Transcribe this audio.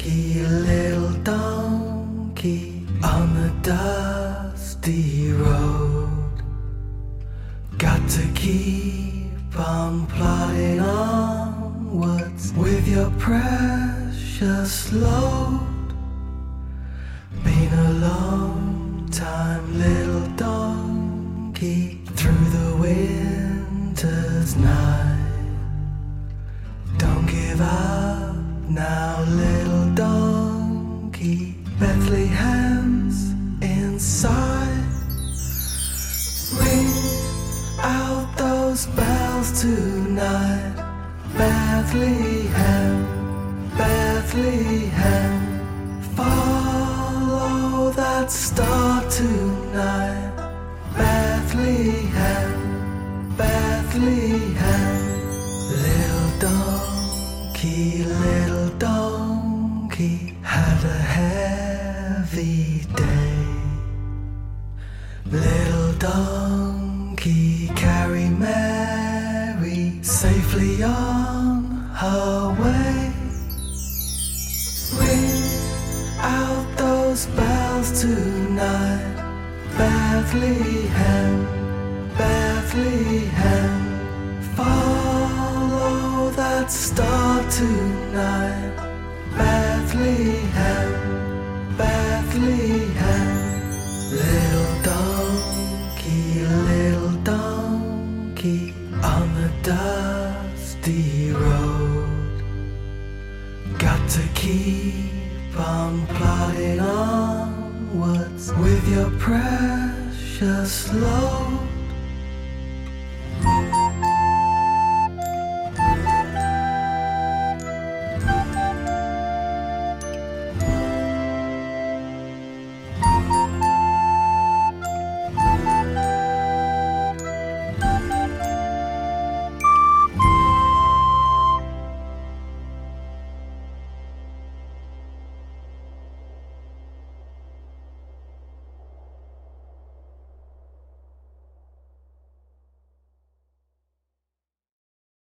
donkey, little donkey on the dusty road. Got to keep on plodding onwards with your precious load. Been a long time, little donkey, through the winter's night. Don't give up now, little donkey, Bethlehem's in sight. Ring out those bells tonight, Bethlehem, Bethlehem. Follow that star tonight, Bethlehem, Bethlehem. Little donkey had a heavy day. Little donkey carry Mary safely on her way. Ring out those bells tonight, Bethlehem, Bethlehem. Follow that star tonight, Bethlehem, Bethlehem. Little donkey on the dusty road. Got to keep on plodding onwards with your precious load.